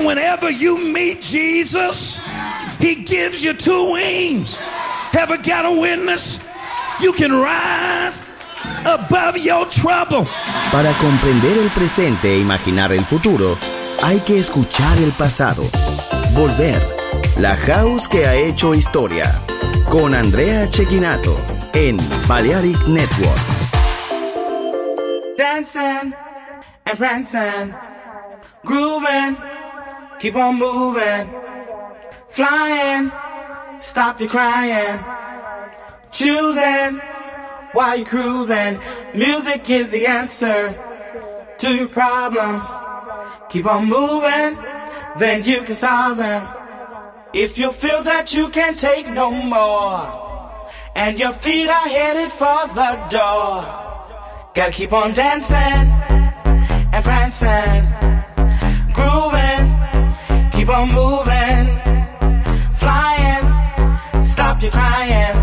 And whenever you meet Jesus, he gives you two wings. Ever got a witness? You can rise above your trouble. Para comprender el presente e imaginar el futuro, hay que escuchar el pasado. Volver. La house que ha hecho historia. Con Andrea Cecchinato en Balearic Network. Dancing and prancing, grooving, keep on moving, flying, stop your crying, choosing while you're cruising. Music is the answer to your problems. Keep on moving, then you can solve them. If you feel that you can't take no more, and your feet are headed for the door, gotta keep on dancing and prancing, grooving, keep on moving, flying, stop your crying,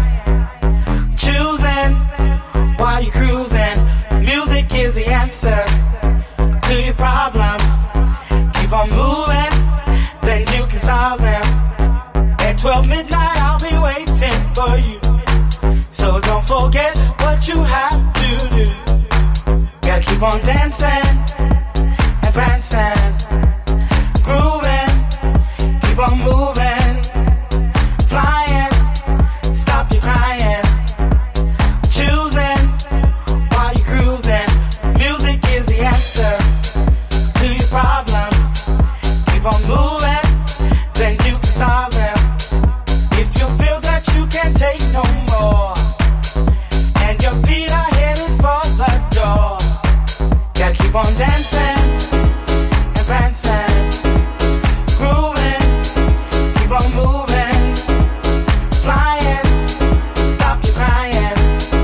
choosing while you're cruising. Music is the answer to your problems. Keep on moving, then you can solve them. At 12 midnight I'll be waiting for you, so don't forget what you have to do. Gotta keep on dancing and prancing, grooving, keep on moving, flying, stop your crying, choosing while you're cruising. Music is the answer to your problems. Keep on moving, then you can solve them. If you feel that you can't take no more, and your feet are headed for the door, gotta keep on dancing and prancing, grooving, keep on moving, flying, stop your crying,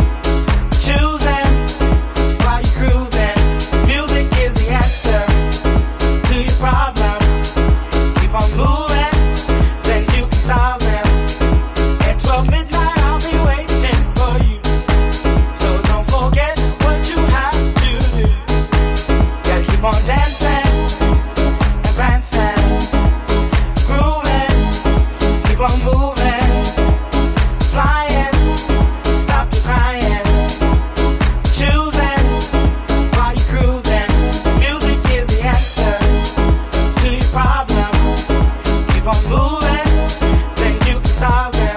choosing while you're cruising. Music is the answer to your problems. Keep on moving, then you can solve them. At 12 midnight I'll be waiting for you, so don't forget what you have to do. Gotta keep on dancing and prancing, grooving, keep on moving, flying, stop your crying, choosing while you're cruising. Music is the answer to your problems. Keep on moving, then you can solve them.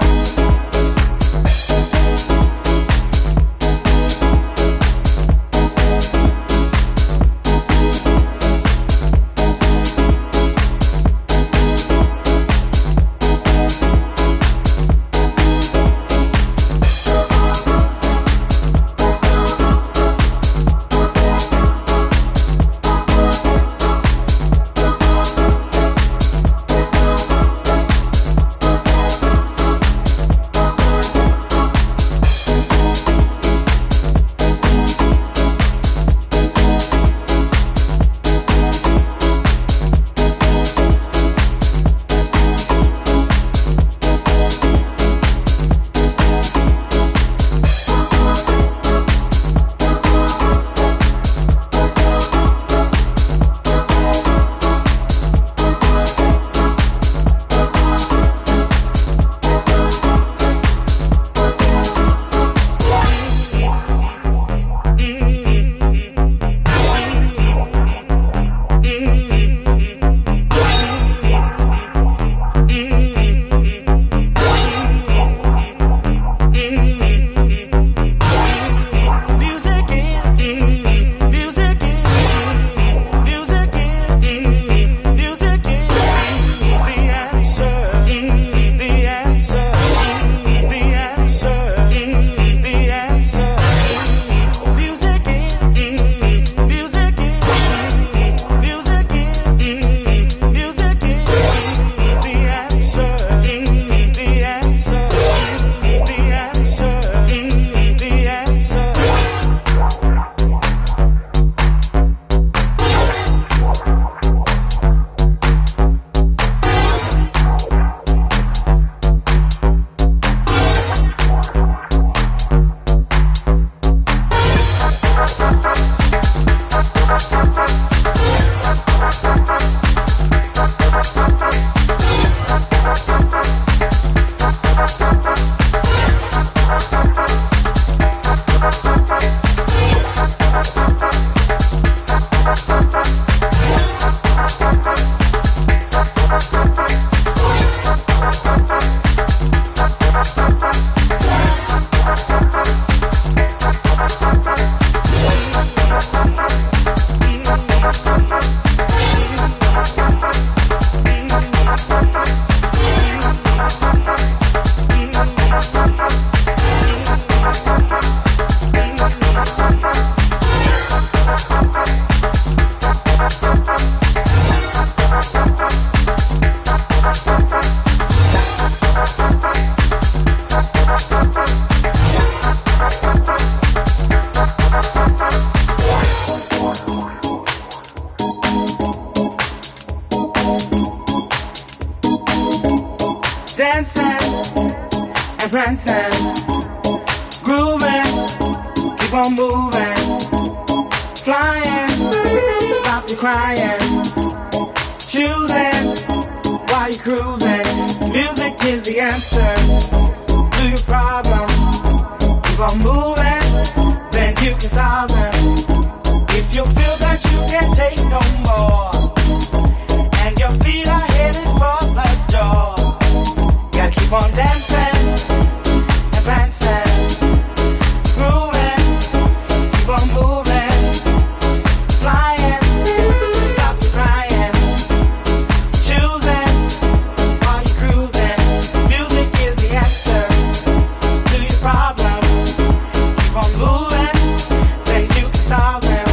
dancing, grooving, keep on moving, flying, stop your crying, choosing while you're cruising. Music is the answer to your problems. Keep on moving, then you can solve them. If you feel that you can't take no more, and your feet are headed for the door, gotta keep on dancing and prancing, grooving, keep on moving, flying, stop the crying, choosing while you're cruising. Music is the answer to your problems. Keep on moving, then you can solve them.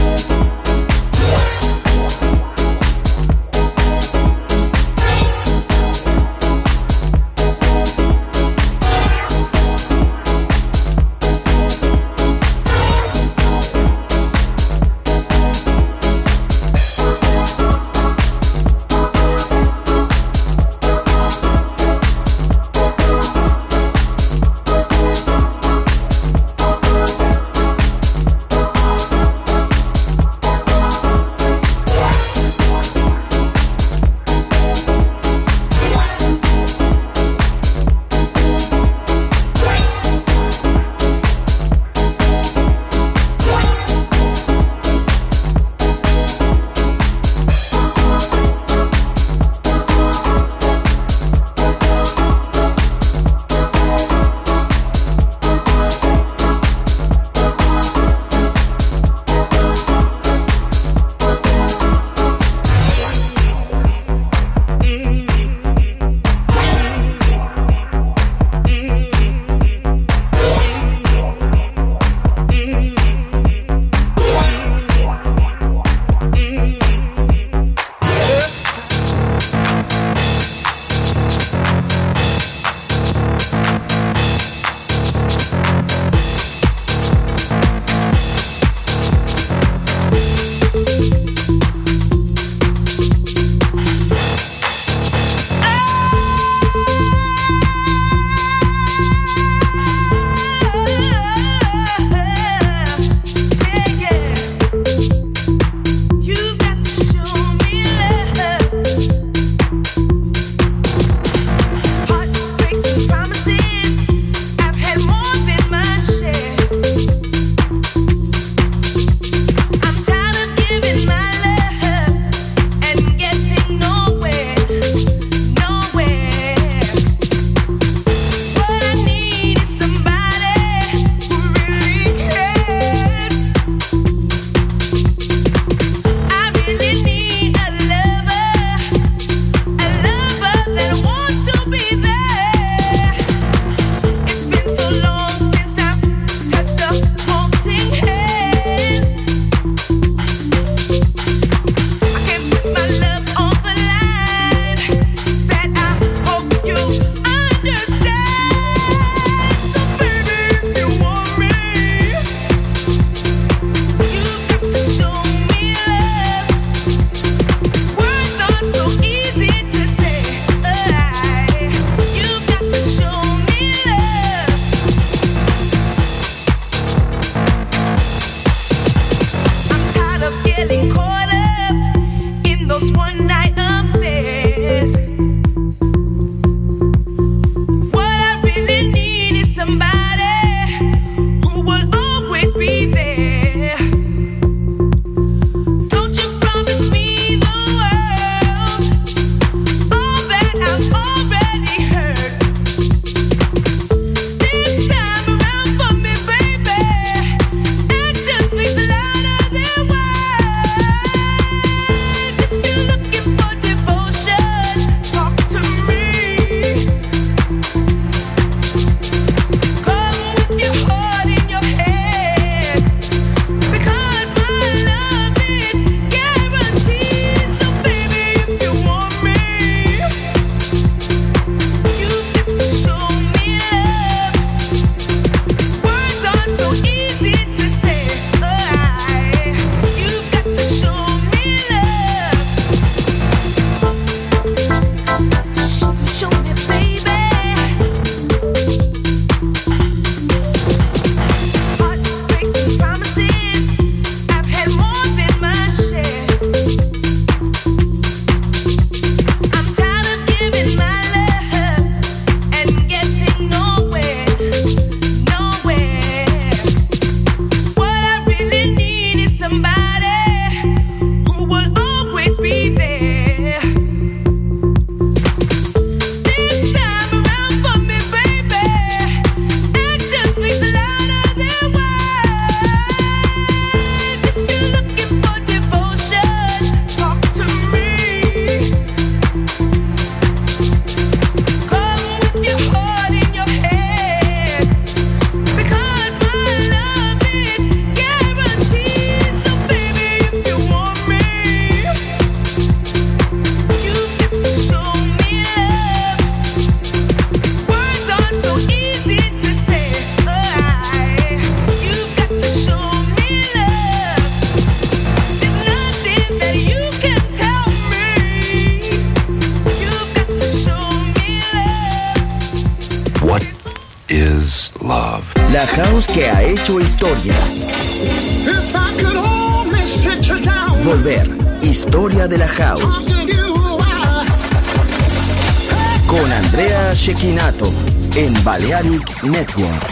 Looking love. La house que ha hecho historia. If I could only sit you down. Volver. Historia de la house. Con Andrea Cecchinato en Balearic Network.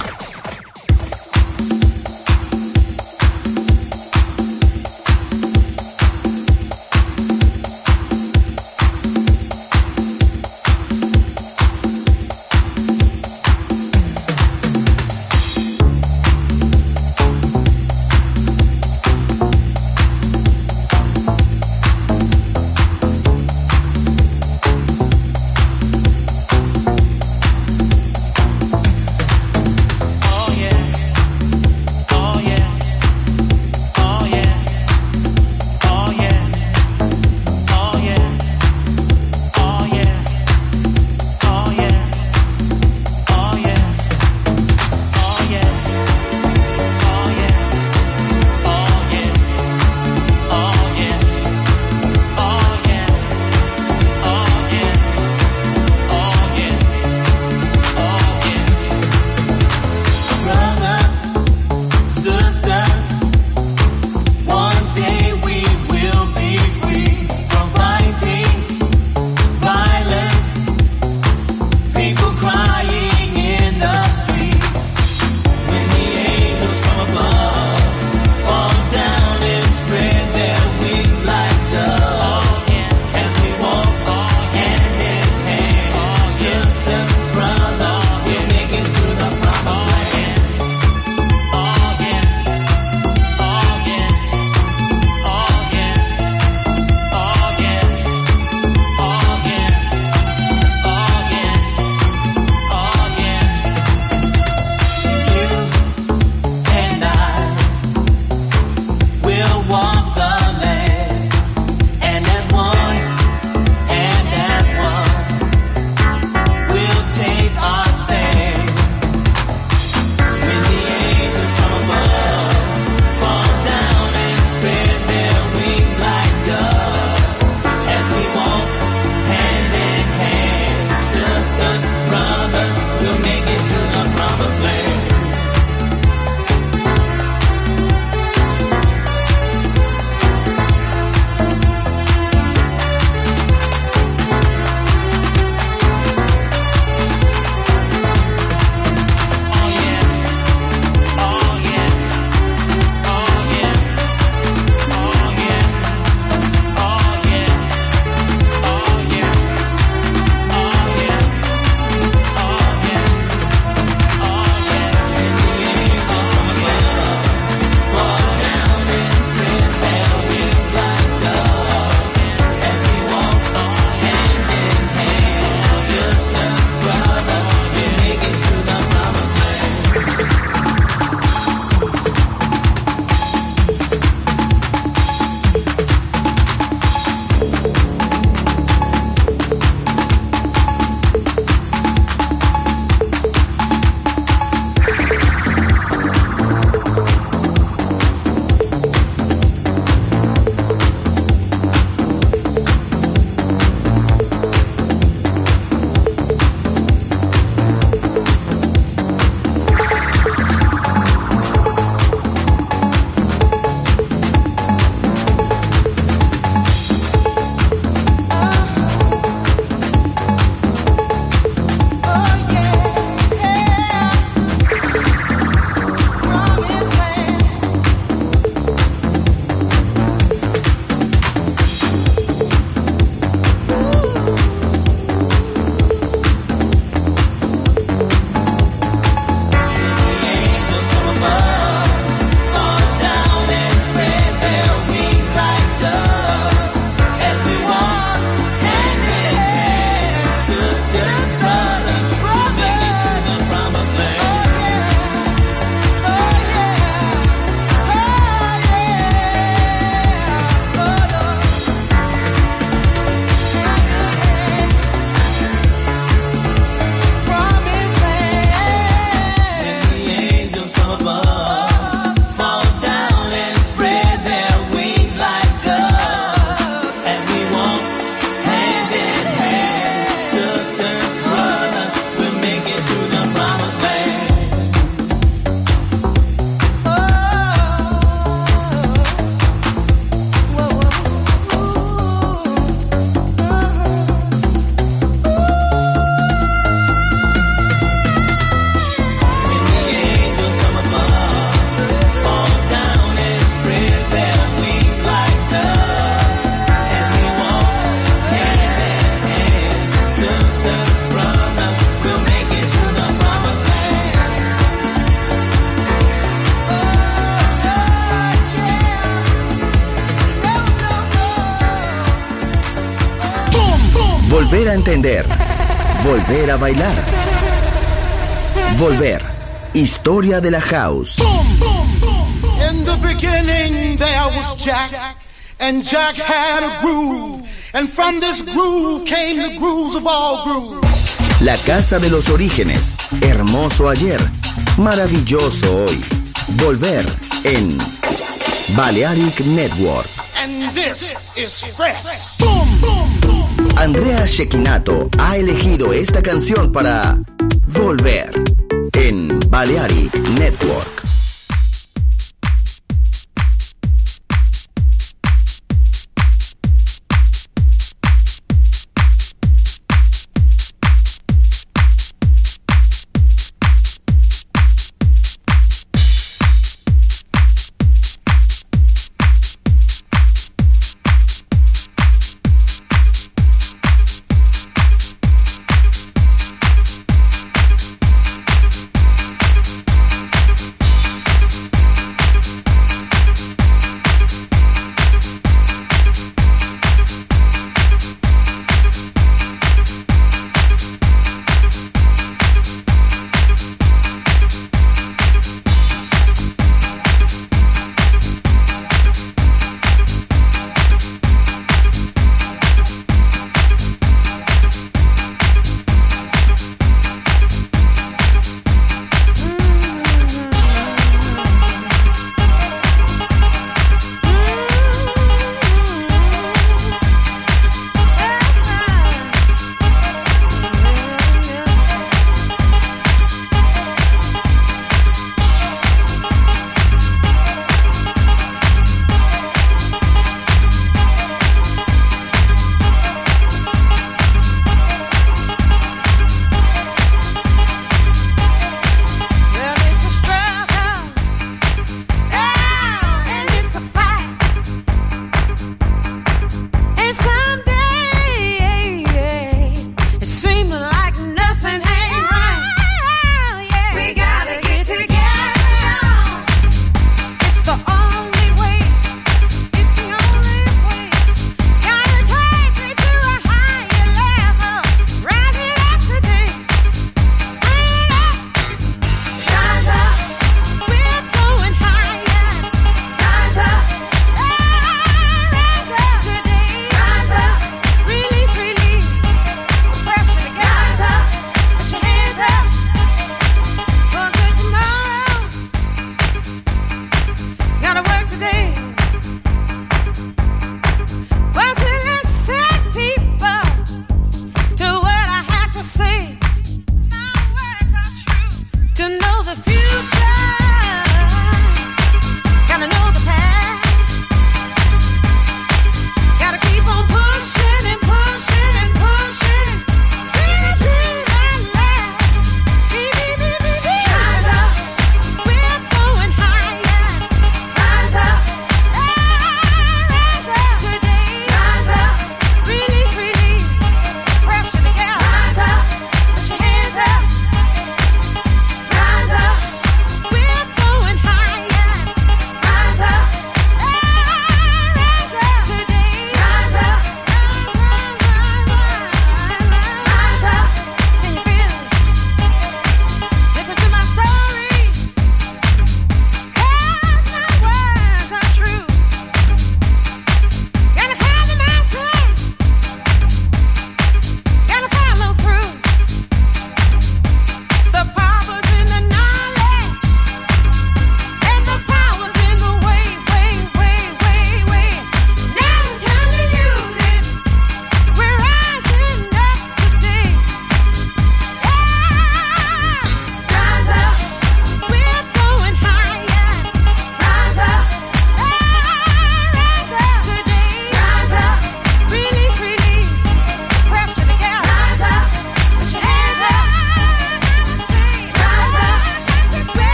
Volver a entender. Volver a bailar. Volver. Historia de la house. In the beginning there was Jack, and Jack had a groove, and from this groove came the grooves of all grooves. La casa de los orígenes. Hermoso ayer. Maravilloso hoy. Volver en Balearic Network. And this is fresh. Andrea Cecchinato ha elegido esta canción para Volver en Balearic Network.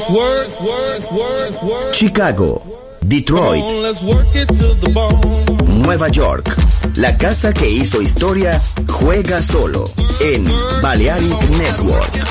Chicago, Detroit, Nueva York. La casa que hizo historia juega solo en Balearic Network.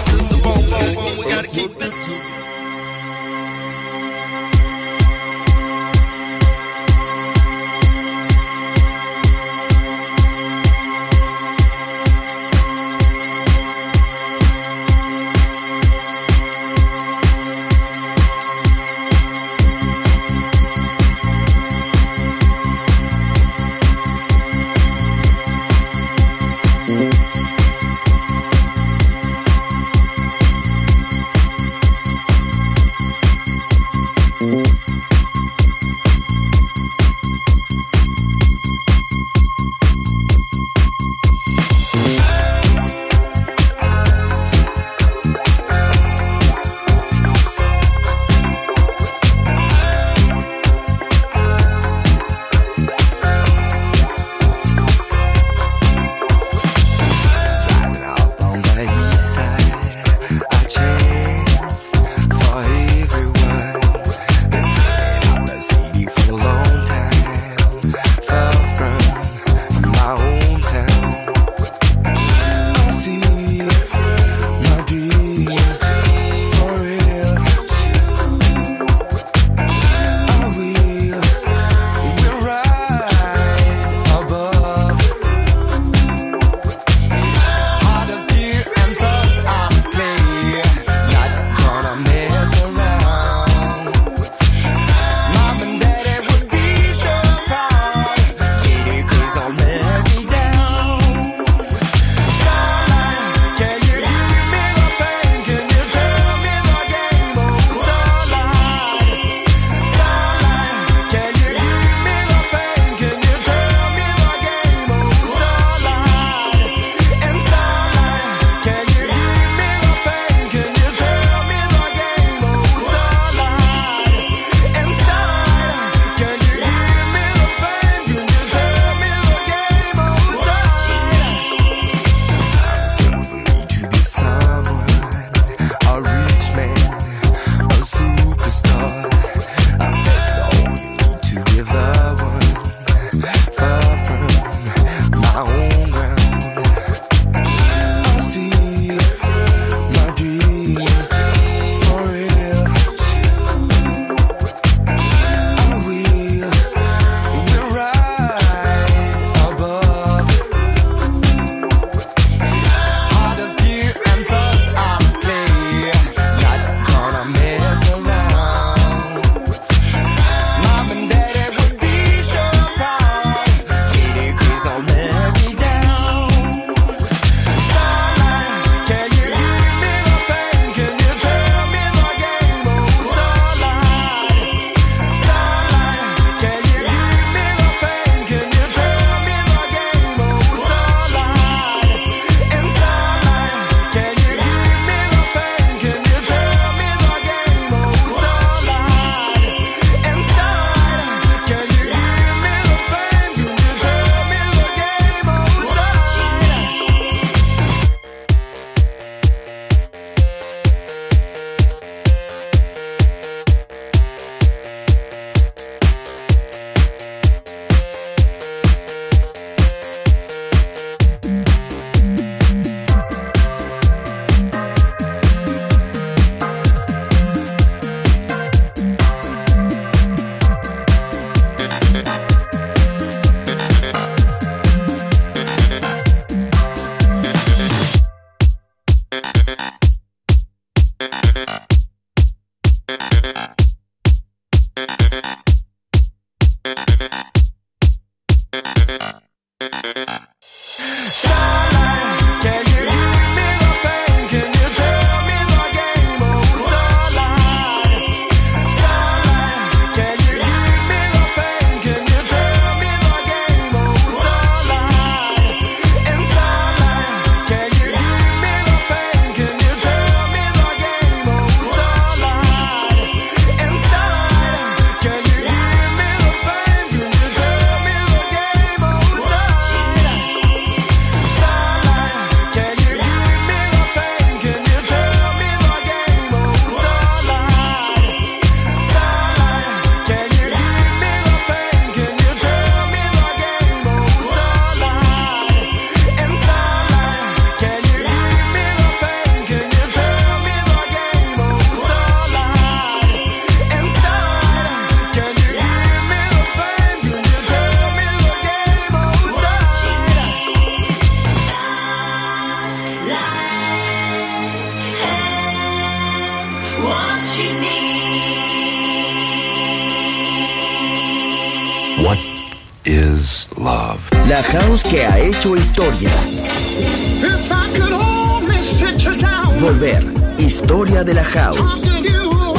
What is love? La house que ha hecho historia. If I could only sit you down. Volver. Historia de la house. Talking to you,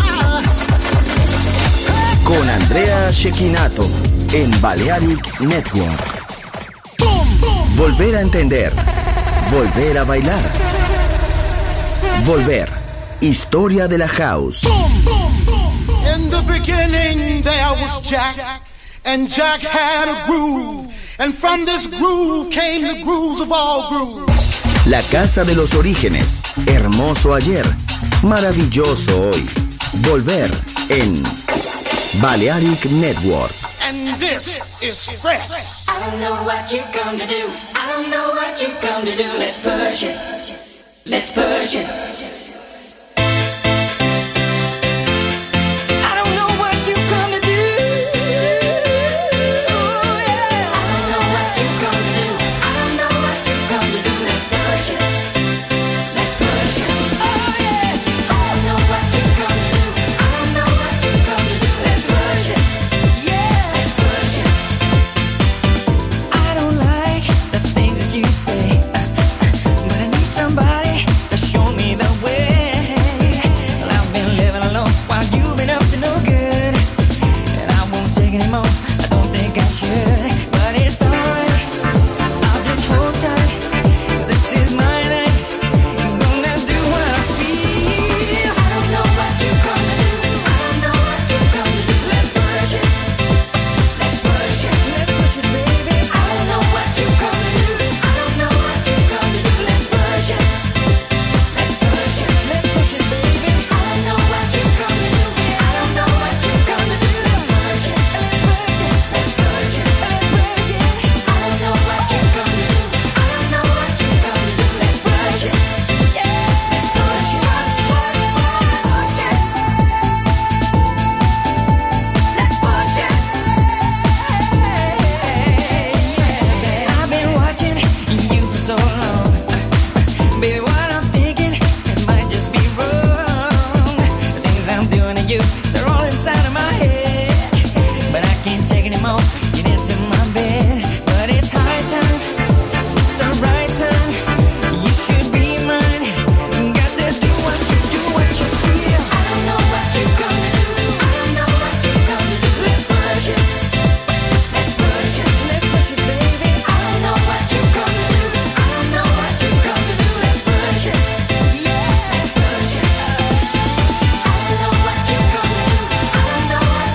Con Andrea Cecchinato en Balearic Network. Volver a entender. Volver a bailar. Volver. Historia de la house. In the beginning there was Jack, and Jack had a groove, and from this groove came the grooves of all grooves. La casa de los orígenes. Hermoso ayer. Maravilloso hoy. Volver en Balearic Network. And this is fresh. I don't know what you're gonna do. I don't know what you're gonna do. Let's push it. Let's push it. I don't know what you're gonna do. Yeah. I don't know what you're gonna do. I don't know what you're gonna do. Let's push it. Let's push it. Oh yeah. I don't know what you're gonna do. I don't know what you're gonna do. Let's push it. Yeah. Let's push it. I don't like the things that you say, but I need somebody to show me the way. Well, I've been living alone while you've been up to no good, and I won't take anymore. I don't think I should, but it's alright. I'll just hold tight, 'cause this is my night. I'm gonna do what I feel. I don't know what you're gonna do. I don't know what you're gonna do. Let's push it. Let's push it. Let's push it, baby. I don't know what you're gonna do. I don't know what you're gonna do. Let's push it. Let's push it. Let's push it, baby. I don't know what you're gonna do. I don't know what you're gonna do. Let's push it. Let's push it. Let's push it. Let's push it. I don't know what you're gonna do. I don't know what you're gonna do. Let's push it. Yeah. Let's push it. Push it. Let's push it. I've been watching you for so long. Baby, what I'm thinking, it might just be wrong. The things I'm doing to you, they're all inside of my head. But I can't take anymore. Get into my bed. But it's high time. It's the right time. You should be mine. Got to do what you feel. I don't know what you're gonna do. I don't know what you're gonna do. Let's push it. Let's push it. Let's push it, baby. I don't know what you're gonna do. I don't know what you're gonna do. Let's push it. Yeah. Let's push it. I don't know what you're gonna do. I don't know what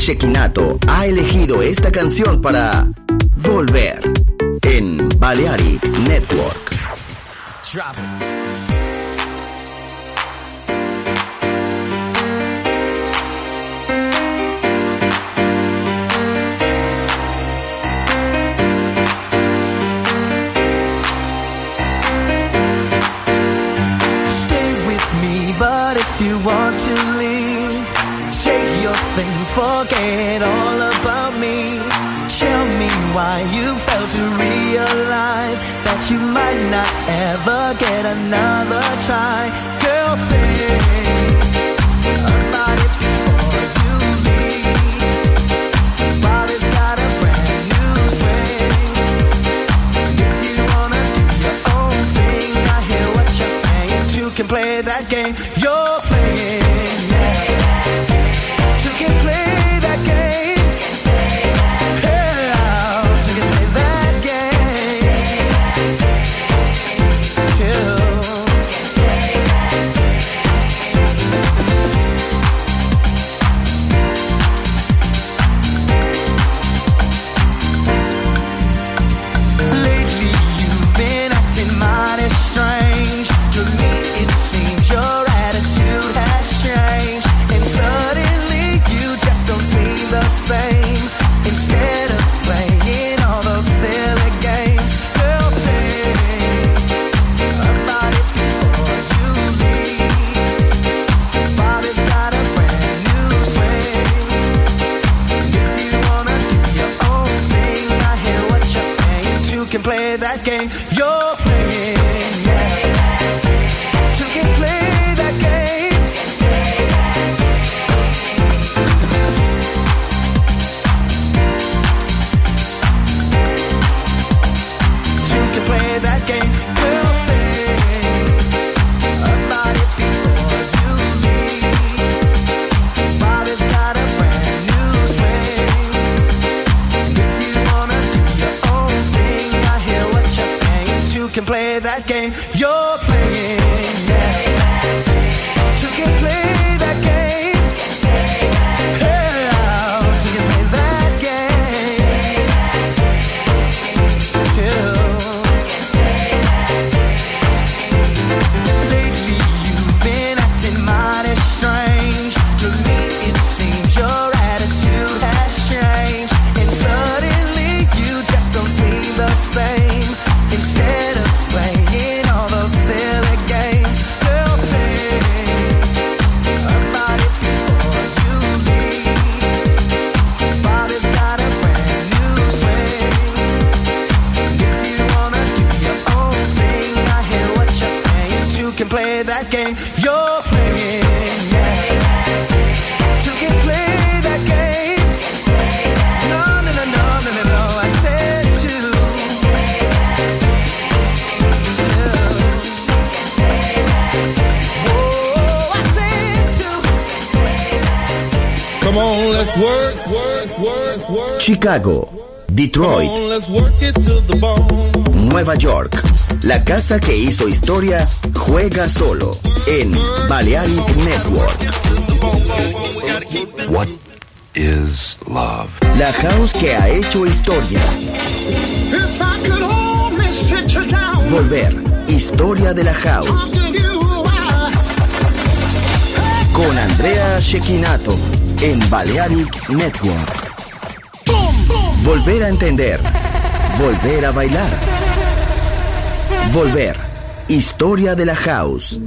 Shekinato ha elegido esta canción para volver en Balearic Network. But if you want to leave, shake your things, forget all about me. Tell me why you failed to realize that you might not ever get another try. Girl, think about it before you leave. Body's got a brand new swing. If you wanna do your own thing, I hear what you're saying. Two can play that game you're playing, yeah. Two can play that game. Yeah, two can play that game. Two. Lately you've been acting mighty strange. To me it seems your attitude has changed, and suddenly you just don't seem the same. Instead of playing all those silly games, girl, think about it before you leave. Body's got a brand new swing. If you wanna do your own thing, I hear what you're saying. Two can play that game you're playing, yeah. Two can play that game. Two can play that game. We'll think about it before you leave. Body's got a brand new swing. If you wanna do your own thing, I hear what you're saying. Two can play that game you're playing, yeah. Two can play that game. Yeah, two can play that game. Two. Lately you've been acting mighty strange. To me it seems your attitude has changed, and suddenly you just don't seem the same. Instead of playing all those silly games, girl, think about it before you leave. Body's got a brand new swing. If you wanna do your own thing, I hear what you're saying. Two can play that game you're playing, yeah. Two can play that game. No, no, no, no, no, no, no. I said two. Oh, I said two. Come on, let's work. Chicago, Detroit, Come on, let's work it to the bone. Nueva York. La casa que hizo historia juega solo en Balearic Network. What is love? La house que ha hecho historia. If I could only sit you down, Volver, historia de la house. talking to you, Con Andrea Shekinato en Balearic Network. Volver a entender. Volver a bailar. Volver, historia de la house.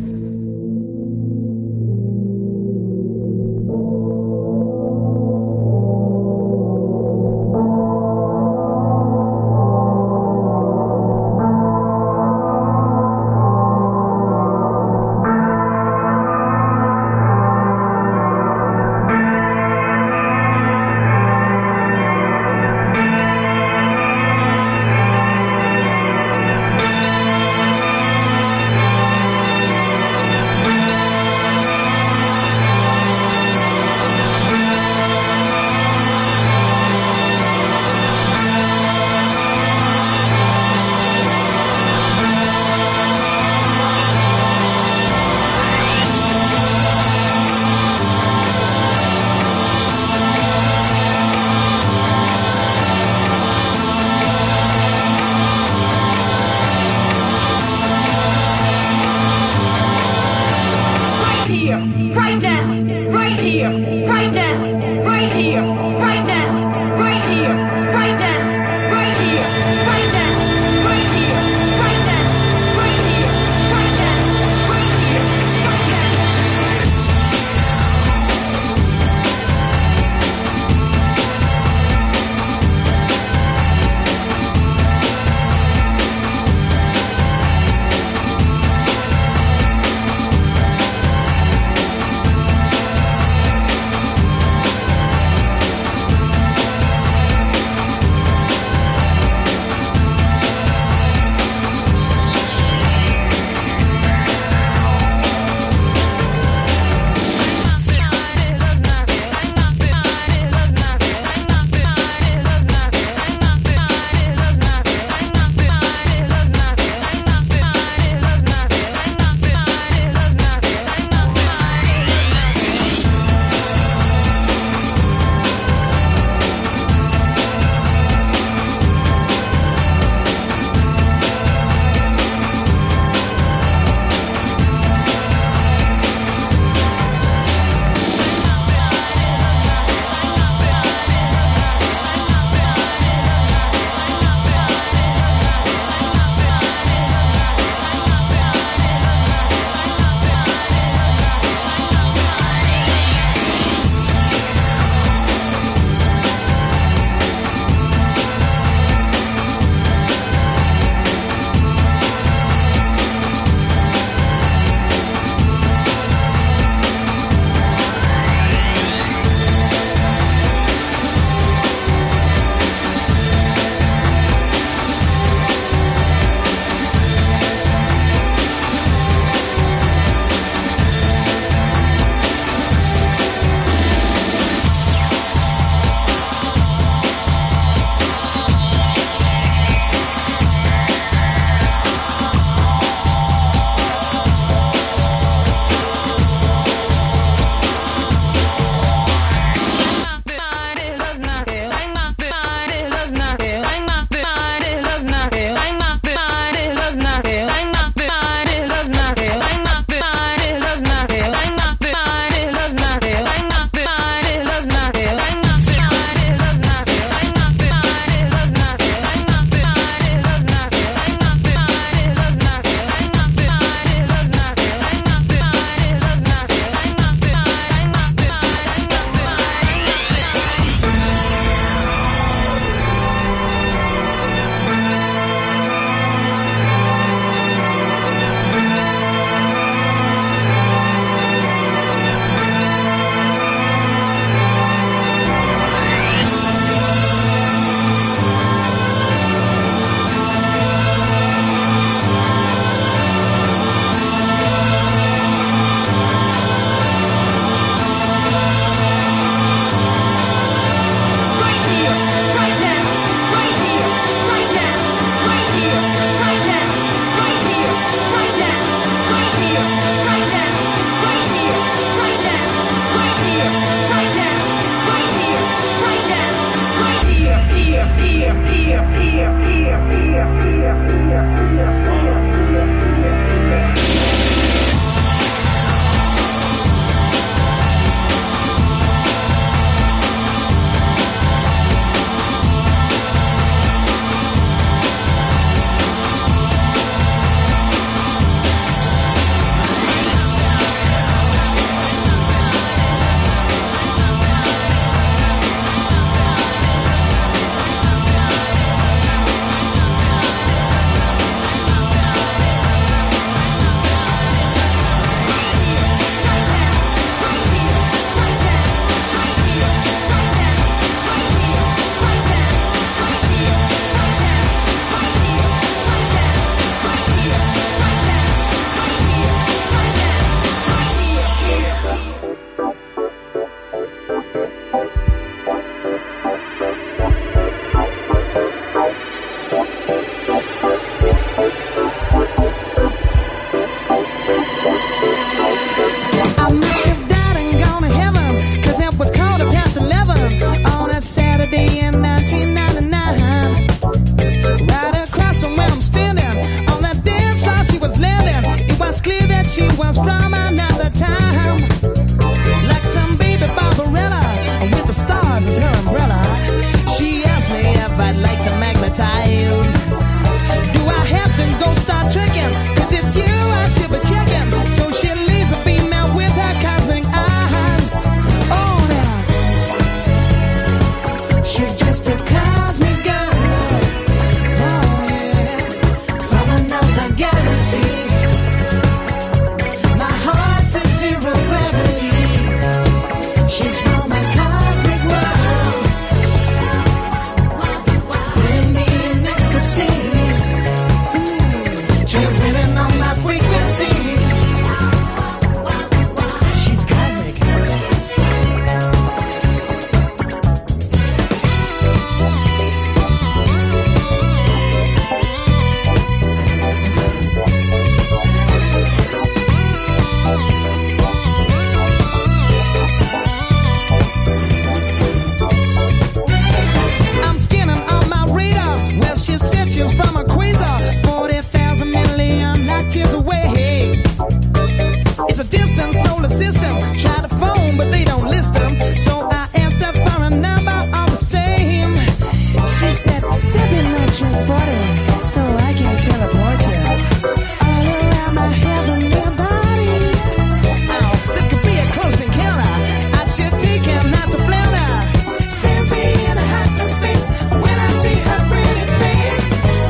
that step in my transporter so I can teleport you all around my heavenly body. Oh, this could be a close encounter. I should take him not to flounder. Sends me in a hyperspace when I see her pretty face.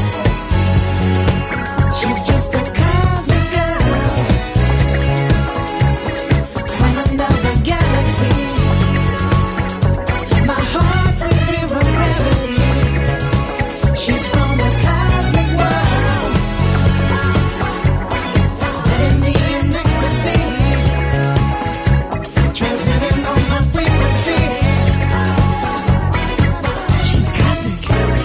She's just a cosmic girl from another galaxy. My heart's in zero gravity. She's from a cosmic world, letting me in ecstasy, transmitting on my frequency. She's cosmic.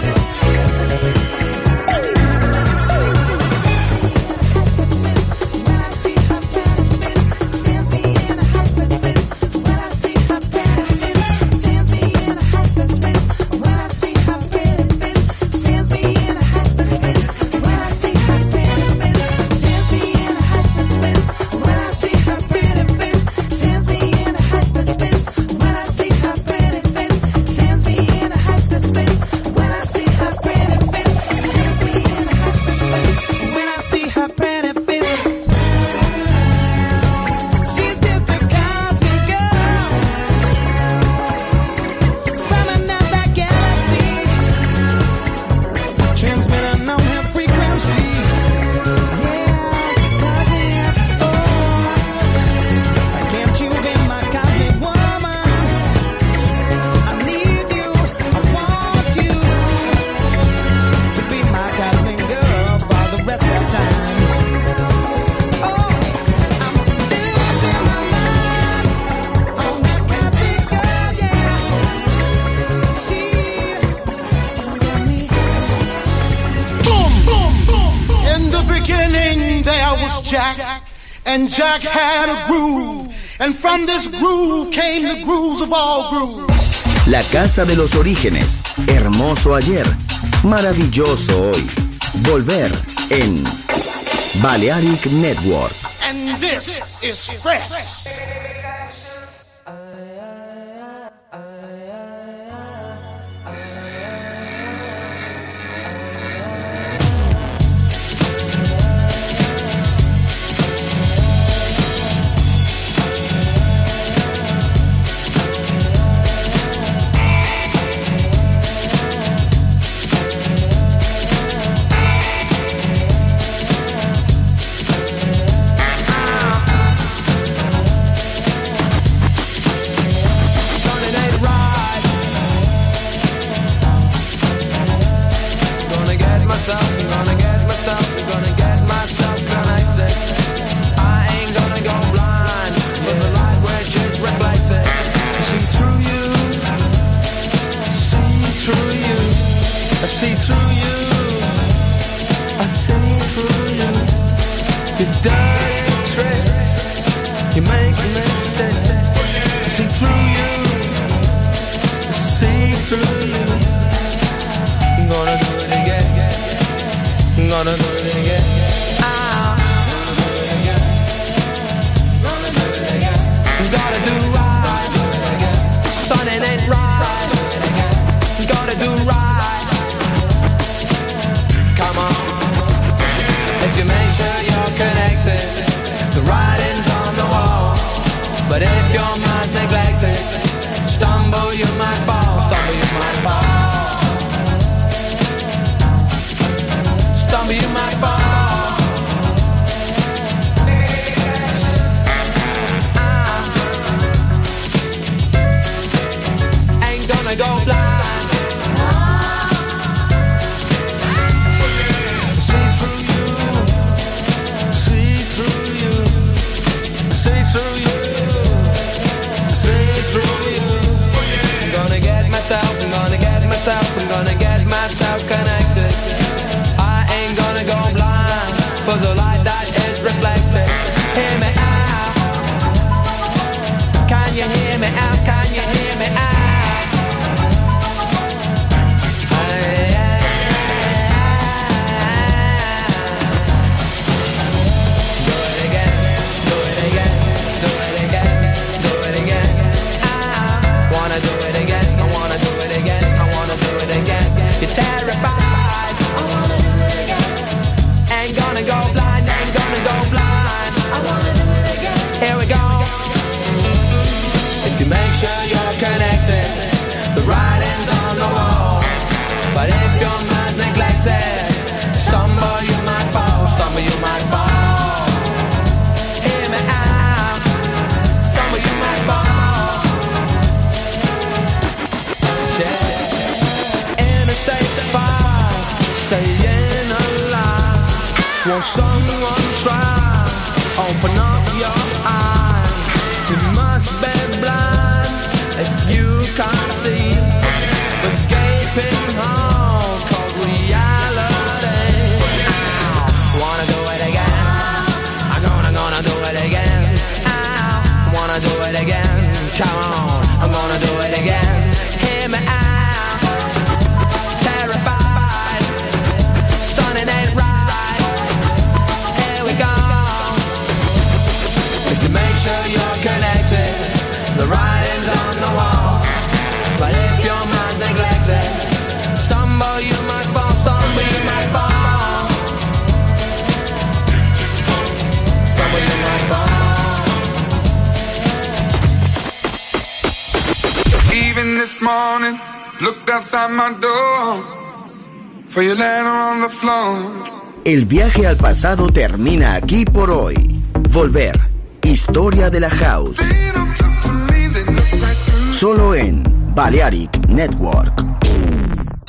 When I see her pretty face, sends me in a hyperspace. When I see her pretty face, sends me in a hyperspace. When I see her pretty face, sends me in a hyperspace. When I see her pretty face, sends me in a hyperspace. When I see her pretty face, sends me in a hyperspace. When I see her pretty face, sends me in a hyperspace. When I see her pretty face, sends me in a hyperspace. When I see her pretty face, she's just a cosmic girl from another galaxy, transmitting on her frequency. Yeah, cosmic. Oh, can't you be my cosmic woman? I need you, I want you to be my cosmic girl for the rest of time. Oh, I'm losing my mind on that cosmic girl, yeah. She got me. Boom, boom, boom, boom. In the beginning there was Jack, and Jack had a groove, and from this groove came the grooves of all grooves. La casa de los orígenes. Hermoso ayer, maravilloso hoy. Volver en Balearic Network. And this is fresh. Sunday night ride. Gonna get myself connected. I ain't gonna go blind with the light which is reflected. See through you, see through you, I see through you, I see through you. Your dirty tricks, you make me sick. I see through you, I see through you. I'm gonna do it again. I'm gonna do it again. Ah. Gotta do right. Son, it ain't right. Gotta do right. Come on. If you make sure you're connected, the writing's on the wall. But if your mind's neglected, stumble you might fall. Stumble you might fall. Stumble you might fall. terrified. Ain't gonna go blind, ain't gonna go blind. Here we go. If you make sure you're connected, the writing's on the wall. But if your mind's neglected, stumble you might fall, stumble you might fall. Hear me out, stumble you might fall. Yeah. In a state of fire, staying alive. Won't someone try? Open up your eyes. You must be blind if you can't see the gaping hole called reality. Wanna do it again? I'm gonna do it again. Wanna do it again? Come on, I'm gonna do it again. Hear me out. Terrified, son, it ain't right. Here we go. If you make sure you're connected, the writing's on the wall. But if your mind's neglected, stumble you might fall, stumble you might fall. Stumble you might fall. Even this morning, looked outside my door for your letter on the floor. El viaje al pasado termina aquí por hoy. Volver. Historia de la House. Solo en Balearic Network.